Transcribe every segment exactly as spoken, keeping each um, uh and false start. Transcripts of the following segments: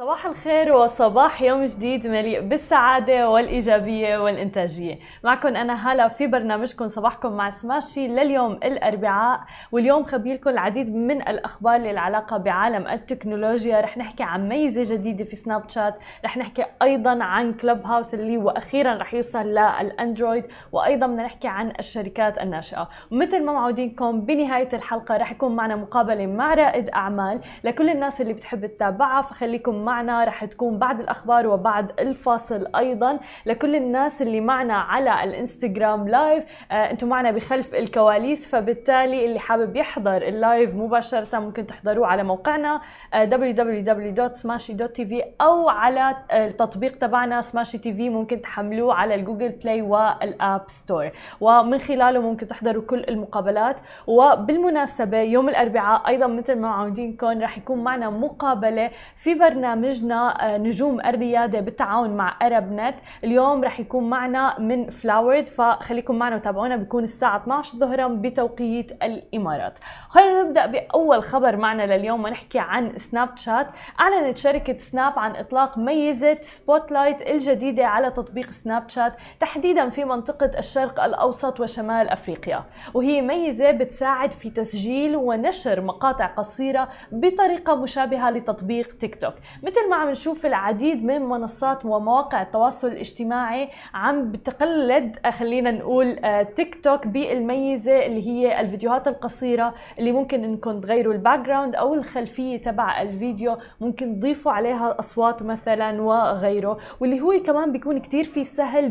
صباح الخير وصباح يوم جديد مليء بالسعادة والإيجابية والإنتاجية. معكم أنا هلا في برنامجكم صباحكم مع سماشي لليوم الأربعاء، واليوم خبيلكم العديد من الأخبار اللي العلاقة بعالم التكنولوجيا. رح نحكي عن ميزة جديدة في سناب شات، رح نحكي أيضا عن كلوب هاوس اللي وأخيرا رح يوصل للأندرويد، وأيضا بدنا نحكي عن الشركات الناشئة. ومثل ما معودينكم بنهاية الحلقة رح يكون معنا مقابلة مع رائد أعمال لكل الناس اللي بتحب تتابعها، فخليكم معنا. رح تكون بعد الأخبار وبعد الفاصل. أيضا لكل الناس اللي معنا على الانستغرام لايف، آه انتم معنا بخلف الكواليس، فبالتالي اللي حابب يحضر اللايف مباشرة ممكن تحضروه على موقعنا آه دبليو دبليو دبليو دوت سماشي دوت تي في، أو على التطبيق تبعنا سماشي تي في، ممكن تحملوه على الجوجل بلاي والآب ستور، ومن خلاله ممكن تحضروا كل المقابلات. وبالمناسبة يوم الأربعاء أيضا مثل ما معودينكم رح يكون معنا مقابلة في برنامجنا نجوم الريادة بالتعاون مع أرب نت. اليوم رح يكون معنا من فلاورد، فخليكم معنا وتابعونا، بيكون الساعة اثني عشر ظهرا بتوقيت الإمارات. خلينا نبدأ بأول خبر معنا لليوم ونحكي عن سناب شات. أعلنت شركة سناب عن إطلاق ميزة سبوت لايت الجديدة على تطبيق سناب شات، تحديدا في منطقة الشرق الأوسط وشمال أفريقيا، وهي ميزة بتساعد في تسجيل ونشر مقاطع قصيرة بطريقة مشابهة لتطبيق تيك توك. مثل ما عم نشوف العديد من منصات ومواقع التواصل الاجتماعي عم بتقلد خلينا نقول تيك توك بالميزة اللي هي الفيديوهات القصيرة اللي ممكن انكم تغيروا الباك جراوند او الخلفية تبع الفيديو، ممكن تضيفوا عليها اصوات مثلا وغيره، واللي هو كمان بيكون كتير في سهل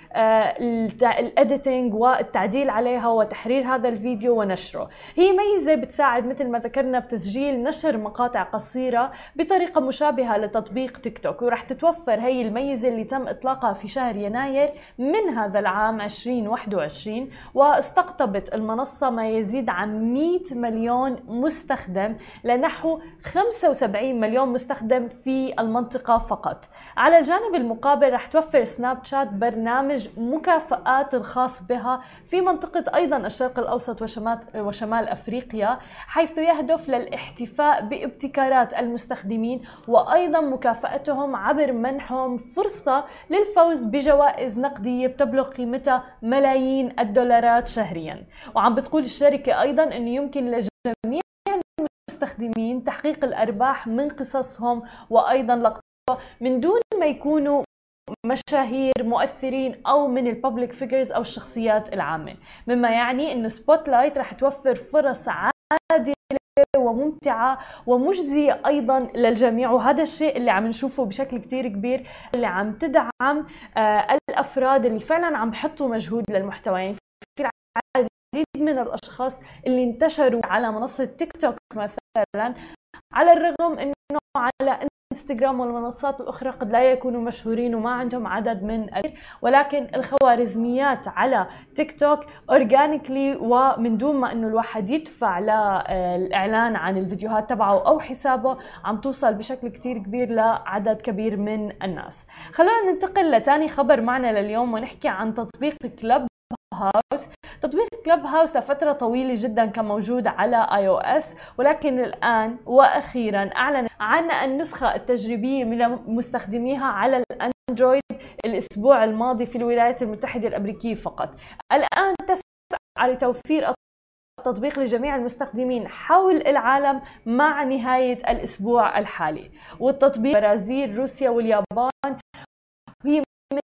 بالإديتنج والتعديل عليها وتحرير هذا الفيديو ونشره. هي ميزة بتساعد مثل ما ذكرنا بتسجيل نشر مقاطع قصيرة بطريقة مشابهة لتطبيق تيك توك، ورح تتوفر هي الميزة اللي تم إطلاقها في شهر يناير من هذا العام ألفين وواحد وعشرين، واستقطبت المنصة ما يزيد عن مئة مليون مستخدم لنحو خمسة وسبعين مليون مستخدم في المنطقة فقط. على الجانب المقابل رح توفر سناب شات برنامج مكافآت الخاص بها في منطقة أيضا الشرق الأوسط وشمال, وشمال أفريقيا، حيث يهدف للاحتفاء بابتكارات المستخدمين وأيضا مكافأتهم عبر منحهم فرصة للفوز بجوائز نقدية بتبلغ قيمتها ملايين الدولارات شهريا. وعم بتقول الشركة أيضا أنه يمكن لجميع المستخدمين تحقيق الأرباح من قصصهم وأيضا لقطة من دون ما يكونوا مشاهير مؤثرين او من الببليك فيجرز او الشخصيات العامه، مما يعني انه سبوت لايت رح توفر فرص عادله وممتعه ومجزيه ايضا للجميع، وهذا الشيء اللي عم نشوفه بشكل كتير كبير اللي عم تدعم آه الافراد اللي فعلا عم بحطوا مجهود للمحتوى. يعني في العديد من الاشخاص اللي انتشروا على منصه تيك توك مثلا، على الرغم انه على انستغرام والمنصات الاخرى قد لا يكونوا مشهورين وما عندهم عدد من ال... ولكن الخوارزميات على تيك توك اورجانيكلي ومن دون ما انه الواحد يدفع للاعلان عن الفيديوهات تبعه او حسابه عم توصل بشكل كتير كبير لعدد كبير من الناس. خلونا ننتقل لتاني خبر معنا لليوم ونحكي عن تطبيق كلوب هاوس. تطبيق كلوب هاوس لفترة طويلة جدا كان موجود على اي او اس، ولكن الآن وأخيرا أعلن عن النسخة التجريبية من مستخدميها على الأندرويد الأسبوع الماضي في الولايات المتحدة الأمريكية فقط. الآن تسعى لتوفير التطبيق لجميع المستخدمين حول العالم مع نهاية الأسبوع الحالي، والتطبيق برازيل روسيا واليابان هي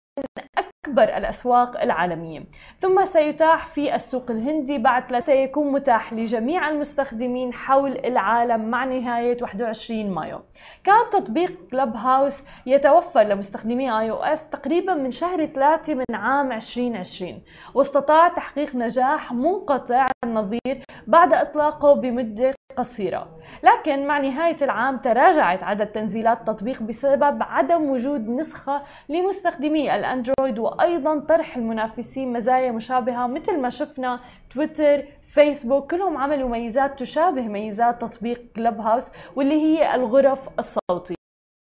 أكبر الأسواق العالمية، ثم سيتاح في السوق الهندي، بعد سيكون متاح لجميع المستخدمين حول العالم مع نهاية واحد وعشرين مايو. كان تطبيق كلوب هاوس يتوفر لمستخدمي اي او اس تقريبا من شهر ثلاثة من عام ألفين وعشرين، واستطاع تحقيق نجاح منقطع النظير بعد إطلاقه بمدة قصيرة، لكن مع نهاية العام تراجعت عدد تنزيلات التطبيق بسبب عدم وجود نسخة لمستخدمي الأندرويد، وأيضا طرح المنافسين مزايا مشابهة مثل ما شفنا تويتر فيسبوك كلهم عملوا ميزات تشابه ميزات تطبيق كلوب هاوس واللي هي الغرف الصوتية،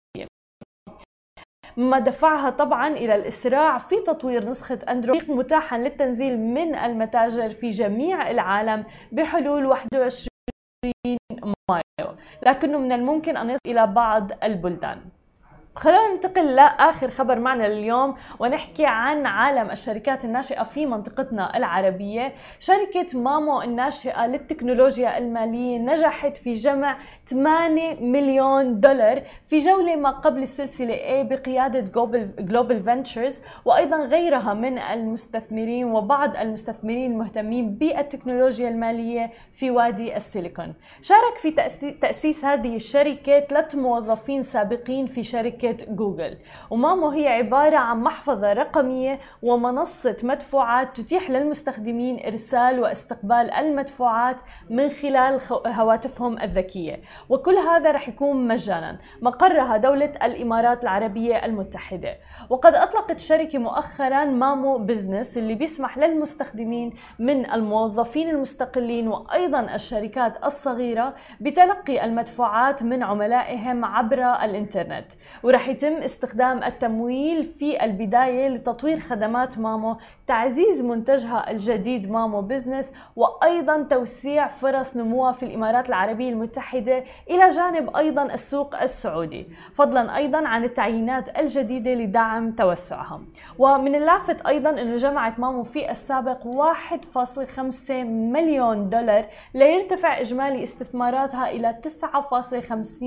ما دفعها طبعا إلى الإسراع في تطوير نسخة أندرويد متاحا للتنزيل من المتاجر في جميع العالم بحلول واحد وعشرين مايو، لكنه من الممكن أن يصل إلى بعض البلدان. خلونا ننتقل لآخر خبر معنا لليوم ونحكي عن عالم الشركات الناشئة في منطقتنا العربية. شركة مامو الناشئة للتكنولوجيا المالية نجحت في جمع ثمانية مليون دولار في جولة ما قبل السلسلة A بقيادة جلوبال فينتشرز وأيضا غيرها من المستثمرين وبعض المستثمرين المهتمين بالتكنولوجيا المالية في وادي السيليكون. شارك في تأسيس هذه الشركة ثلاث موظفين سابقين في شركة جوجل. ومامو هي عبارة عن محفظة رقمية ومنصة مدفوعات تتيح للمستخدمين إرسال واستقبال المدفوعات من خلال هواتفهم الذكية، وكل هذا رح يكون مجانا. مقرها دولة الإمارات العربية المتحدة. وقد أطلقت الشركة مؤخرا مامو بزنس اللي بيسمح للمستخدمين من الموظفين المستقلين وأيضا الشركات الصغيرة بتلقي المدفوعات من عملائهم عبر الإنترنت. ورح يتم استخدام التمويل في البداية لتطوير خدمات مامو، تعزيز منتجها الجديد مامو بزنس، وأيضا توسيع فرص نموها في الإمارات العربية المتحدة إلى جانب أيضا السوق السعودي، فضلا أيضا عن التعيينات الجديدة لدعم توسعها. ومن اللافت أيضا أنه جمعت مامو في السابق واحد فاصلة خمسة مليون دولار ليرتفع إجمالي استثماراتها إلى تسعة فاصلة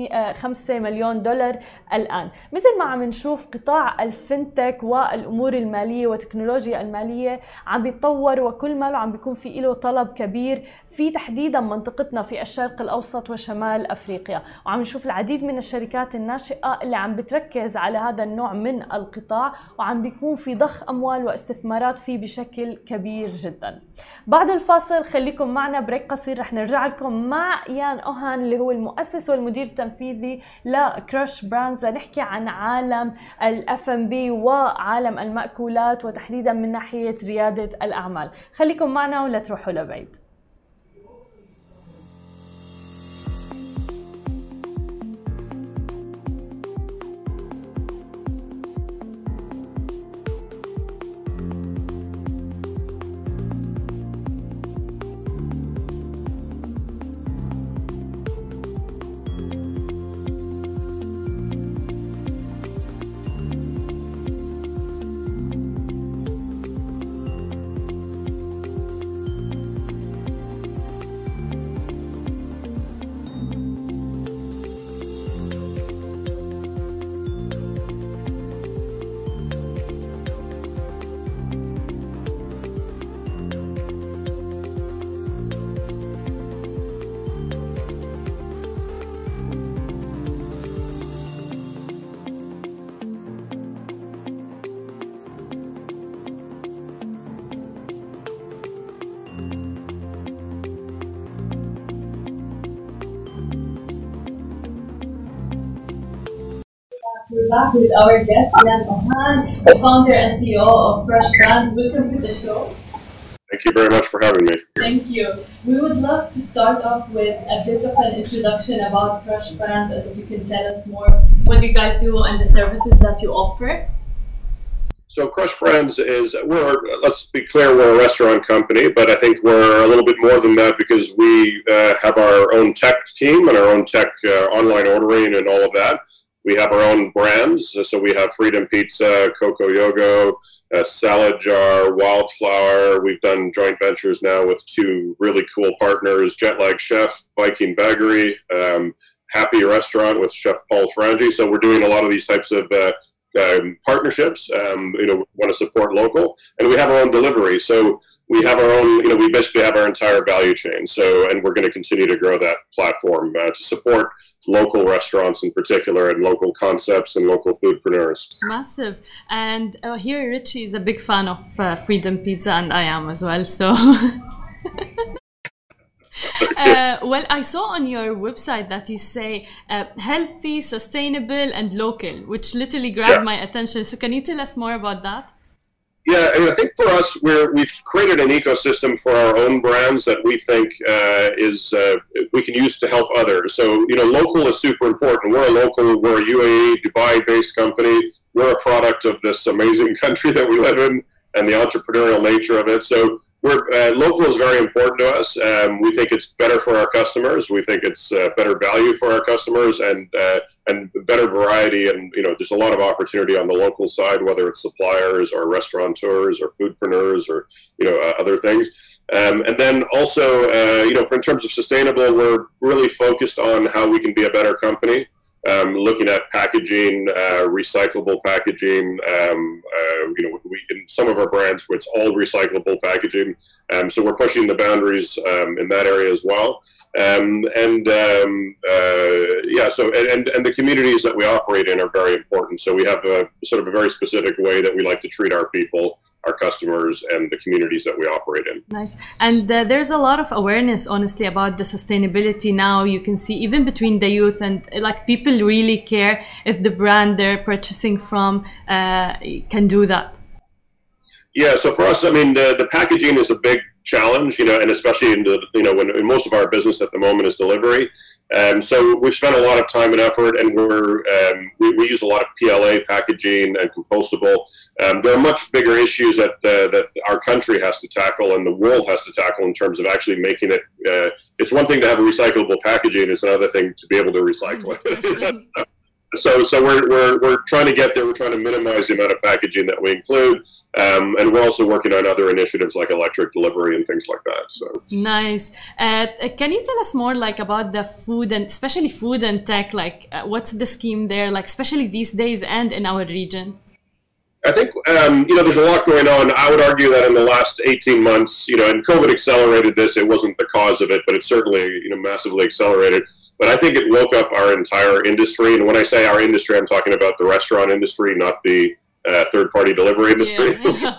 خمسة مليون دولار الآن. مثل ما عم نشوف قطاع الفنتك والأمور المالية وتكنولوجيا المالية عم بيتطور وكل ما عم بيكون في له طلب كبير في تحديدا منطقتنا في الشرق الأوسط وشمال أفريقيا، وعم نشوف العديد من الشركات الناشئة اللي عم بتركز على هذا النوع من القطاع وعم بيكون في ضخ أموال واستثمارات فيه بشكل كبير جدا. بعد الفاصل خليكم معنا بريك قصير، رح نرجع لكم مع يان أوهان اللي هو المؤسس والمدير التنفيذي لكراش براندز لنحكي عن عالم الاف ام بي وعالم المأكولات وتحديدا من ناحية ريادة الأعمال. خليكم معنا ولا تروحوا لبعيد. We're back with our guest, Yan Ohan, the founder and C E O of Crush Brands. Welcome to the show. Thank you very much for having me. Thank you. We would love to start off with a bit of an introduction about Crush Brands, and if you can tell us more what you guys do and the services that you offer. So Crush Brands is, we're, let's be clear, we're a restaurant company, but I think we're a little bit more than that because we uh, have our own tech team and our own tech uh, online ordering and all of that. We have our own brands, so we have Freedom Pizza, Coco Yogo, uh, Salad Jar, Wildflower. We've done joint ventures now with two really cool partners, Jetlag Chef, Viking Baggery, um, Happy Restaurant with Chef Paul Frangi. So we're doing a lot of these types of uh, um, partnerships. Um, you know, we want to support local, and we have our own delivery. So we have our own, you know, we basically have our entire value chain. So, and we're going to continue to grow that platform uh, to support local restaurants in particular and local concepts and local foodpreneurs. Massive. And uh, here Richie is a big fan of uh, Freedom Pizza, and I am as well. So. Uh, well, I saw on your website that you say uh, healthy, sustainable, and local, which literally grabbed yeah. my attention. So can you tell us more about that? Yeah, and I think for us, we're, we've created an ecosystem for our own brands that we think uh, is uh, we can use to help others. So, you know, local is super important. We're a local, we're a U A E, Dubai-based company. We're a product of this amazing country that we live in. and the entrepreneurial nature of it. So we're, uh, local is very important to us. Um, we think it's better for our customers. We think it's uh, better value for our customers, and uh, and better variety. And you know, there's a lot of opportunity on the local side, whether it's suppliers or restaurateurs or foodpreneurs or you know uh, other things. Um, and then also, uh, you know, for in terms of sustainable, we're really focused on how we can be a better company. Um, looking at packaging, uh, recyclable packaging. Um, uh, you know, we in some of our brands, it's all recyclable packaging. Um, so we're pushing the boundaries um, in that area as well. Um, and um, uh, yeah, so and and the communities that we operate in are very important. So we have a sort of a very specific way that we like to treat our people, our customers, and the communities that we operate in. Nice. And uh, there's a lot of awareness, honestly, about the sustainability now. You can see even between the youth, and like people really care if the brand they're purchasing from uh, can do that. Yeah, so for us, I mean, the, the packaging is a big challenge, you know, and especially in the, you know, when in most of our business at the moment is delivery. Um, so we've spent a lot of time and effort, and we're um, we, we use a lot of P L A packaging and compostable. Um, there are much bigger issues that uh, that our country has to tackle and the world has to tackle in terms of actually making it. Uh, it's one thing to have a recyclable packaging; it's another thing to be able to recycle it. So, so we're, we're, we're trying to get there. We're trying to minimize the amount of packaging that we include. Um, and we're also working on other initiatives like electric delivery and things like that. So nice. Uh, can you tell us more like about the food and especially food and tech? Like uh, what's the scheme there? Like especially these days and in our region? I think, um, you know, there's a lot going on. I would argue that in the last eighteen months, you know, and COVID accelerated this. It wasn't the cause of it, but it certainly, you know, massively accelerated. But I think it woke up our entire industry. And when I say our industry, I'm talking about the restaurant industry, not the uh, third-party delivery industry. Yeah.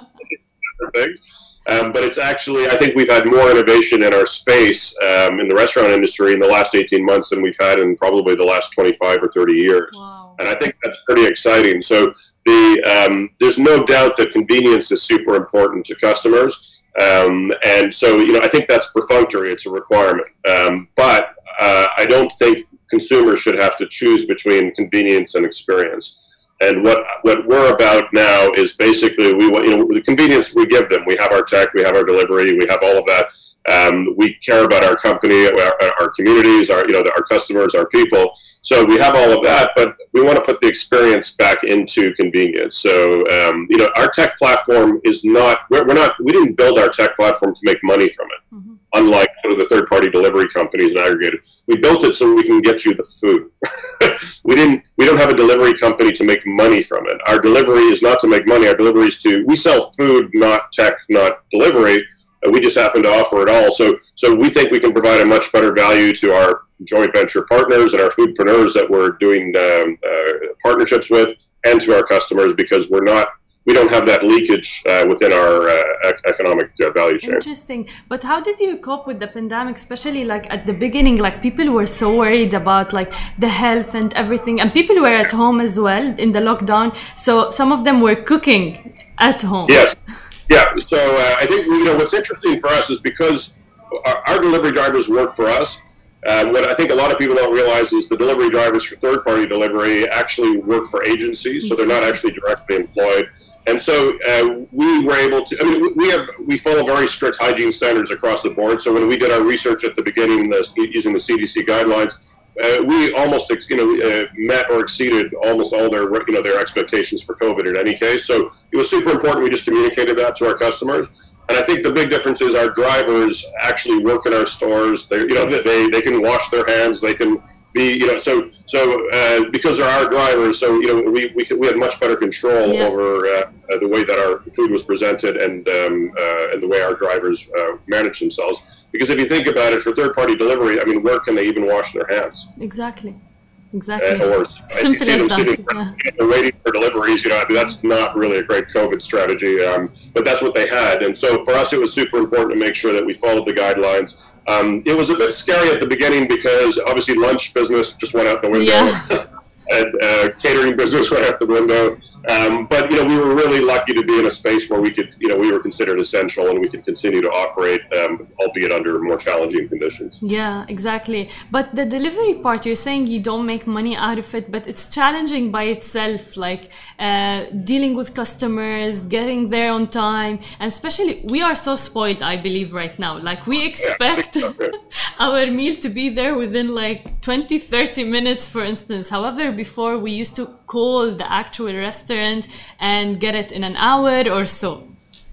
Things. Um, but it's actually, I think we've had more innovation in our space um, in the restaurant industry in the last eighteen months than we've had in probably the last twenty-five or thirty years. Wow. And I think that's pretty exciting. So the um, there's no doubt that convenience is super important to customers. Um, and so, you know, I think that's perfunctory. It's a requirement. Um, but uh, I don't think consumers should have to choose between convenience and experience. And what what we're about now is basically we want, you know, the convenience we give them. We have our tech, we have our delivery, we have all of that. Um, we care about our company, our, our communities, our you know our customers, our people. So we have all of that, but we want to put the experience back into convenience. So um, you know, our tech platform is not we're, we're not we didn't build our tech platform to make money from it. Mm-hmm. Unlike sort of the third-party delivery companies and aggregators, we built it so we can get you the food. we didn't. We don't have a delivery company to make money from it. Our delivery is not to make money. Our delivery is to we sell food, not tech, not delivery. We just happen to offer it all. So, so we think we can provide a much better value to our joint venture partners and our foodpreneurs that we're doing um, uh, partnerships with, and to our customers, because we're not, we don't have that leakage uh, within our uh, ec- economic uh, value chain. Interesting. But how did you cope with the pandemic, especially like at the beginning? Like people were so worried about like the health and everything, and people were at home as well in the lockdown. So some of them were cooking at home. Yes. Yeah, so uh, I think, you know, what's interesting for us is because our, our delivery drivers work for us. Uh, what I think a lot of people don't realize is the delivery drivers for third-party delivery actually work for agencies, so they're not actually directly employed. And so uh, we were able to, I mean, we have we follow very strict hygiene standards across the board. So when we did our research at the beginning, the, using the C D C guidelines, Uh, we almost, you know, uh, met or exceeded almost all their, you know, their expectations for COVID in any case. So it was super important. We just communicated that to our customers. And I think the big difference is our drivers actually work in our stores. They, you know, they they can wash their hands. They can be, you know, so so uh, because they're our drivers. So you know, we we we had much better control yeah. over uh, the way that our food was presented and um, uh, and the way our drivers uh, manage themselves. Because if you think about it, for third-party delivery, I mean, where can they even wash their hands? Exactly. Exactly. Uh, or simple as that. Sitting, yeah. waiting for deliveries, you know, I mean, that's not really a great COVID strategy, um, but that's what they had. And so for us, it was super important to make sure that we followed the guidelines. Um, it was a bit scary at the beginning because obviously lunch business just went out the window. Yeah. And uh, catered catering business went out the window. Um, but, you know, we were really lucky to be in a space where we could, you know, we were considered essential and we could continue to operate, um, albeit under more challenging conditions. Yeah, exactly. But the delivery part, you're saying you don't make money out of it, but it's challenging by itself, like uh, dealing with customers, getting there on time. And especially, we are so spoiled, I believe, right now. Like, we expect yeah, our meal to be there within like twenty, thirty minutes, for instance. However, before we used to call the actual restaurant and get it in an hour or so.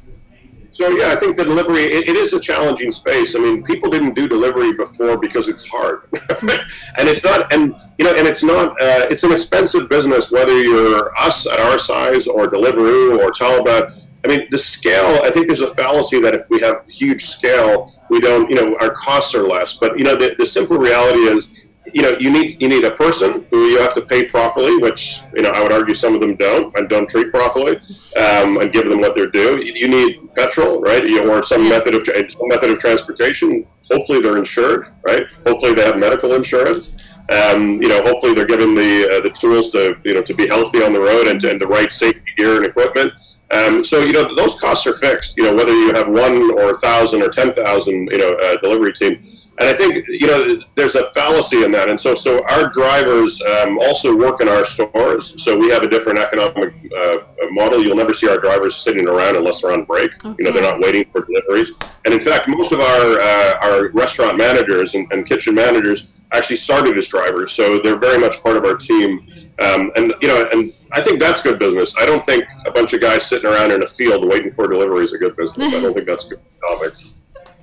So yeah, I think the delivery, it, it is a challenging space. I mean, people didn't do delivery before because it's hard. And it's not, and you know, and it's not, uh, it's an expensive business, whether you're us at our size or Deliveroo or Talabat. I mean, the scale, I think there's a fallacy that if we have huge scale, we don't, you know, our costs are less. But, you know, the, the simple reality is, you know, you need you need a person who you have to pay properly, which, you know, I would argue some of them don't and don't treat properly, um, and give them what they're due. You need petrol, right, you, or some method of some method of transportation. Hopefully they're insured, right? Hopefully they have medical insurance. Um, you know, hopefully they're given the uh, the tools to, you know, to be healthy on the road and, and the right safety gear and equipment. Um, so, you know, those costs are fixed. You know, whether you have one or a thousand or ten thousand, you know, uh, delivery team. And I think, you know, there's a fallacy in that. And so so our drivers um, also work in our stores. So we have a different economic uh, model. You'll never see our drivers sitting around unless they're on break. Okay. You know, they're not waiting for deliveries. And in fact, most of our uh, our restaurant managers and, and kitchen managers actually started as drivers. So they're very much part of our team. Um, and, you know, and I think that's good business. I don't think a bunch of guys sitting around in a field waiting for delivery is a good business. I don't think that's good economics.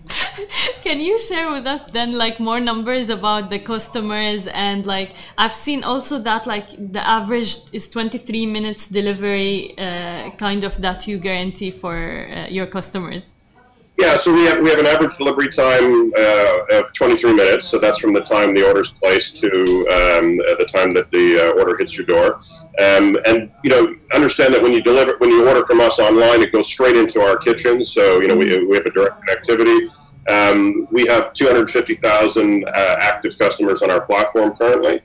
Can you share with us then like more numbers about the customers? And like I've seen also that like the average is twenty-three minutes delivery uh, kind of that you guarantee for uh, your customers. Yeah, so we have we have an average delivery time uh, of twenty-three minutes. So that's from the time the order's placed to um, the time that the uh, order hits your door. Um, and you know, understand that when you deliver, when you order from us online, it goes straight into our kitchen. So you know, we we have a direct connectivity. Um, we have two hundred fifty thousand uh, active customers on our platform currently.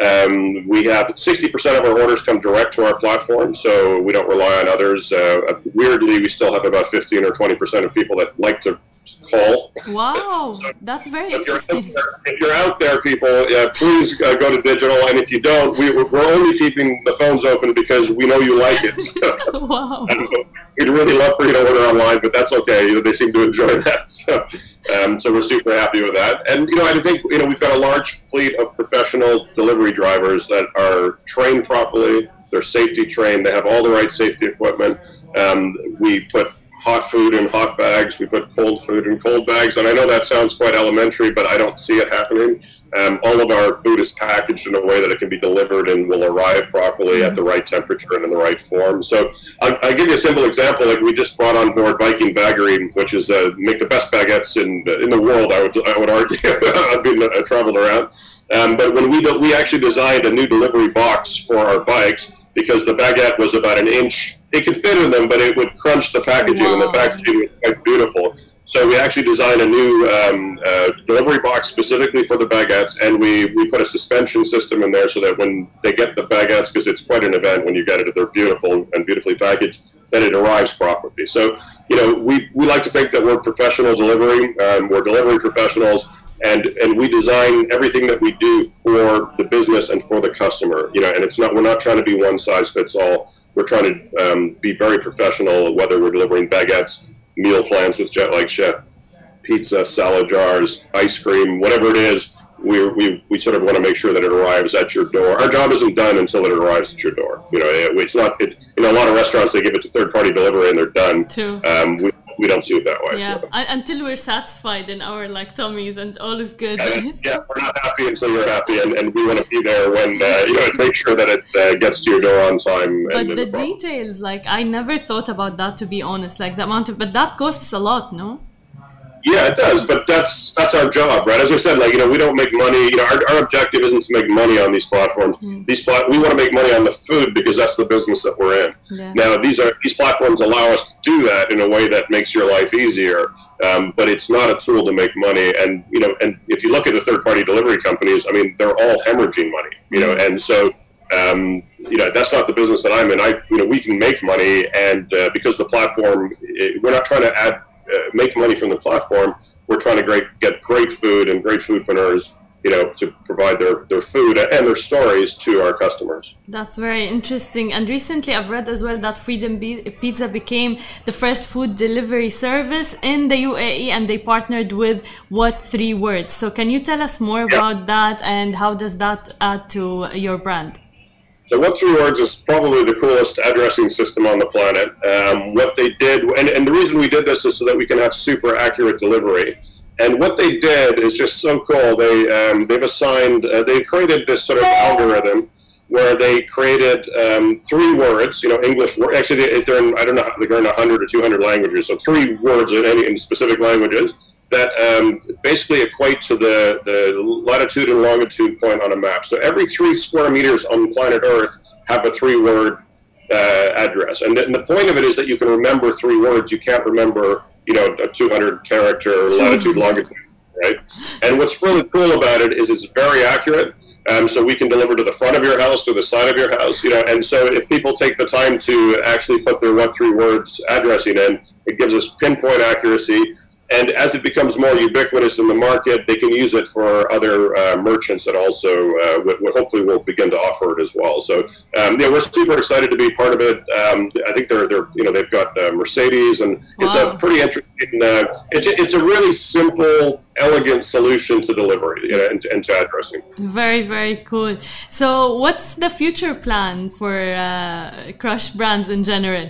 Um, we have sixty percent of our orders come direct to our platform, so we don't rely on others. Uh, weirdly, we still have about fifteen or twenty percent of people that like to call. Wow, that's very if interesting. You're there, if you're out there, people, uh, please uh, go to digital. And if you don't, we, we're only keeping the phones open because we know you like it. So, wow. Um, we'd really love for you to order online, but that's okay. You know, they seem to enjoy that. So, um, so we're super happy with that. And, you know, I think, you know, we've got a large fleet of professional delivery drivers that are trained properly. They're safety trained. They have all the right safety equipment. Um, we put hot food in hot bags. We put cold food in cold bags. And I know that sounds quite elementary, but I don't see it happening. Um, all of our food is packaged in a way that it can be delivered and will arrive properly at the right temperature and in the right form. So I'll, I'll give you a simple example. Like we just brought on board Viking Bagery, which is uh, make the best baguettes in in the world. I would I would argue. I've been uh, traveled around, um, but when we we actually designed a new delivery box for our bikes because the baguette was about an inch. It could fit in them, but it would crunch the packaging, wow. And the packaging was quite beautiful. So we actually designed a new um, uh, delivery box specifically for the baguettes, and we, we put a suspension system in there so that when they get the baguettes, because it's quite an event when you get it, they're beautiful and beautifully packaged, that it arrives properly. So, you know, we, we like to think that we're professional delivery, um, we're delivery professionals, and, and we design everything that we do for the business and for the customer, you know, and it's not, we're not trying to be one size fits all. We're trying to um, be very professional, whether we're delivering baguettes, meal plans with Jet Like Chef, pizza, salad jars, ice cream, whatever it is, we, we, we sort of want to make sure that it arrives at your door. Our job isn't done until it arrives at your door. You know, it, it's not, it, you know, a lot of restaurants, they give it to third-party delivery and they're done. True. Um, we, we don't see it that way. Yeah, so. Until we're satisfied in our like tummies and all is good. Yeah, yeah, we're not happy until you're happy, and, and we want to be there when, uh, you know, make sure that it uh, gets to your door on time. But and, the and details, like, I never thought about that, to be honest, like the amount of, but that costs a lot, no? Yeah, it does, but that's that's our job, right? As I said, like, you know, we don't make money. You know, our, our objective isn't to make money on these platforms. Mm. These plat we want to make money on the food because that's the business that we're in. Yeah. Now, these are these platforms allow us to do that in a way that makes your life easier, um, but it's not a tool to make money. And you know, and if you look at the third-party delivery companies, I mean, they're all hemorrhaging money. You know, and so. Um, you know, that's not the business that I'm in. I, you know, we can make money, and uh, because the platform, it, we're not trying to add, uh, make money from the platform. We're trying to great, get great food and great foodpreneurs, you know, to provide their, their food and their stories to our customers. That's very interesting. And recently I've read as well that Freedom Pizza became the first food delivery service in the U A E, and they partnered with What Three Words. So can you tell us more about yeah. that, and how does that add to your brand? So What Three Words is probably the coolest addressing system on the planet. Um, what they did, and, and the reason we did this is so that we can have super accurate delivery. And what they did is just so cool. They, um, they've assigned, uh, they created this sort of algorithm where they created um, three words, you know, English, actually they're in, I don't know, they're in one hundred or two hundred languages, so three words in any in specific languages that um, basically equate to the, the latitude and longitude point on a map. So every three square meters on planet Earth have a three-word uh, address. And the, and the point of it is that you can remember three words. You can't remember, you know, a two hundred character latitude, longitude, right? And what's really cool about it is it's very accurate. Um, so we can deliver to the front of your house, to the side of your house, you know, and so if people take the time to actually put their What Three Words addressing in, it gives us pinpoint accuracy. And as it becomes more ubiquitous in the market, they can use it for other uh, merchants that also uh, w w hopefully will begin to offer it as well. So um, yeah, we're super excited to be part of it. Um, I think they're they're you know they've got uh, Mercedes, and it's wow. a pretty interesting. Uh, it's it's a really simple, elegant solution to delivery, you know, and, and to addressing. Very very cool. So what's the future plan for uh, Crush Brands in general?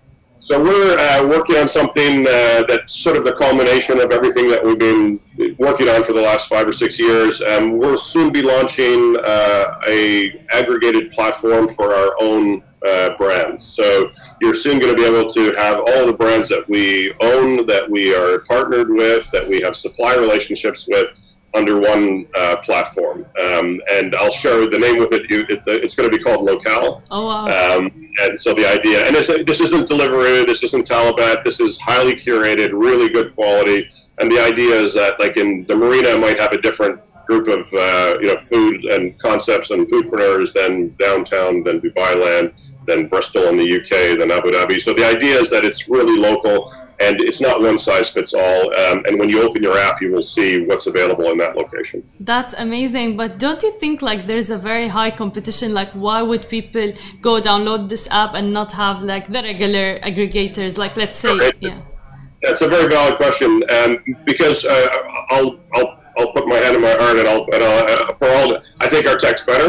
So we're uh, working on something uh, that's sort of the culmination of everything that we've been working on for the last five or six years. Um, we'll soon be launching uh, a aggregated platform for our own uh, brands. So you're soon going to be able to have all the brands that we own, that we are partnered with, that we have supply relationships with, under one uh, platform. Um, and I'll share the name with it. it it's going to be called Locale. Oh, wow. Um, and so the idea, and it's, this isn't Deliveroo, this isn't Talabat, this is highly curated, really good quality. And the idea is that, like in the marina, might have a different group of uh, you know food and concepts and foodpreneurs than downtown, than Dubai Land, than Bristol in the U K, than Abu Dhabi. So the idea is that it's really local, and it's not one size fits all. Um, and when you open your app, you will see what's available in that location. That's amazing. But don't you think like there's a very high competition? Like, why would people go download this app and not have like the regular aggregators? Like, let's say, okay. yeah. That's a very valid question. Um, because uh, I'll, I'll, I'll put my hand in my heart, and I'll, and I'll uh, for all, I think our tech's better.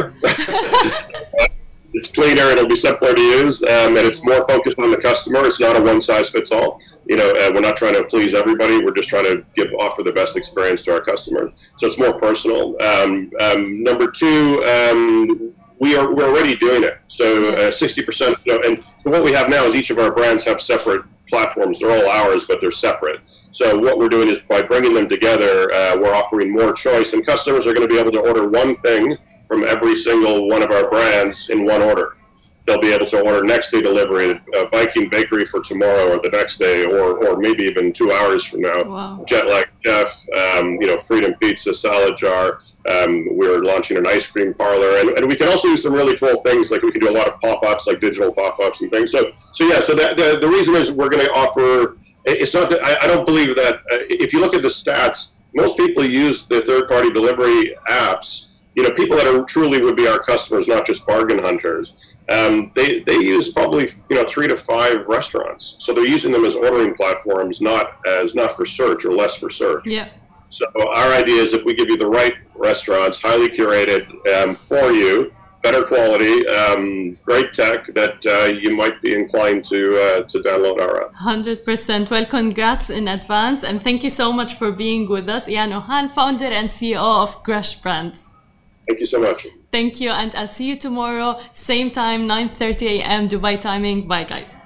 It's cleaner, it'll be simpler to use, um, and it's more focused on the customer. It's not a one-size-fits-all. You know, uh, we're not trying to please everybody. We're just trying to give offer the best experience to our customers. So it's more personal. Um, um, number two, um, we are we're already doing it. So uh, sixty percent. You know, and so what we have now is each of our brands have separate platforms. They're all ours, but they're separate. So what we're doing is by bringing them together, uh, we're offering more choice, and customers are going to be able to order one thing from every single one of our brands in one order. They'll be able to order next day delivery, uh, Viking Bakery for tomorrow or the next day, or or maybe even two hours from now. Wow. Jetlag Chef, um, you know, Freedom Pizza, Salad Jar. Um, we're launching an ice cream parlor, and, and we can also do some really cool things, like we can do a lot of pop-ups, like digital pop-ups and things. So, so yeah. So that, the the reason is we're going to offer. It's not that I, I don't believe that. Uh, if you look at the stats, most people use the third-party delivery apps. You know, people that are truly would be our customers, not just bargain hunters. Um, they they use probably you know three to five restaurants, so they're using them as ordering platforms, not as not for search or less for search. Yeah. So our idea is if we give you the right restaurants, highly curated um, for you, better quality, um, great tech, that uh, you might be inclined to uh, to download our app. one hundred percent. Well, congrats in advance, and thank you so much for being with us. Ian Ohan, founder and C E O of Crush Brands. Thank you so much. Thank you, and I'll see you tomorrow, same time, nine thirty a m Dubai timing. Bye, guys.